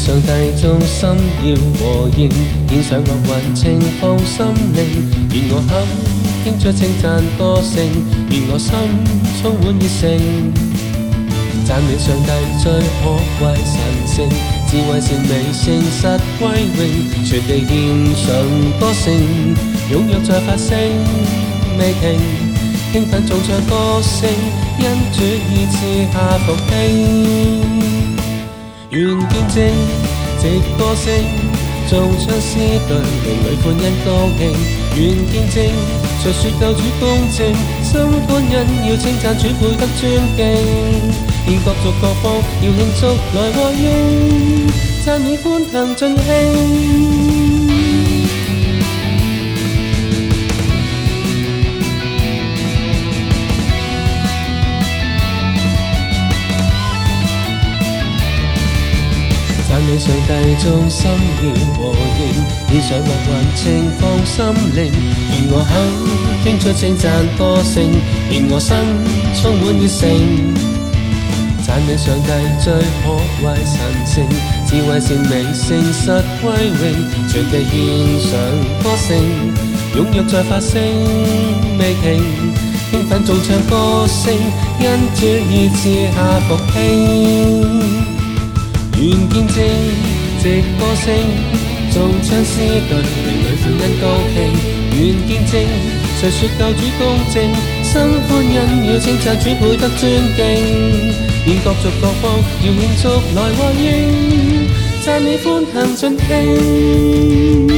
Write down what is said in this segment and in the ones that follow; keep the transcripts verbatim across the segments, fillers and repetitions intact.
上帝眾心要和應，獻上樂雲情放心靈。願我口傾出稱讚歌聲，願我心充滿熱誠。讚美上帝最可貴神聖，智慧善美誠實歸榮，全地獻上歌聲，踴躍在發聲未停，興奮頌唱歌聲，因主已賜下復興。願見證藉歌聲，頌唱詩句，靈裡歡欣高興。願見證述說救主公正，心歡欣要稱讚主配得尊敬。現各族各方要慶祝來和應，讚美歡騰盡興。讚美上帝眾心要和應，獻上樂雲情放心靈。願我口傾出稱讚歌聲，願我心充滿熱誠。讚美上帝最可貴神聖，智慧善美誠實歸榮，全地獻上歌聲，踴躍在發聲未停，興奮頌唱歌聲，因主已賜下復興。願見證藉歌聲，頌唱詩句，靈裡歡欣高興。願見證述說救主公正，心歡欣要稱讚主配得尊敬。現各族各方要慶祝來和應，讚美歡騰盡興。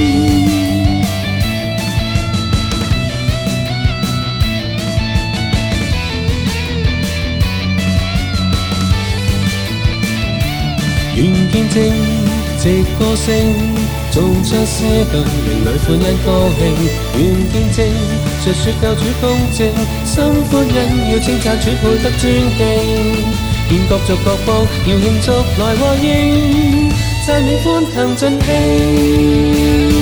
願見證藉歌聲，頌唱詩句，靈裡歡欣高興。願見證述說救主公正，心歡欣要稱讚主配得尊敬。現各族各方要慶祝來和應，讚美歡騰盡興。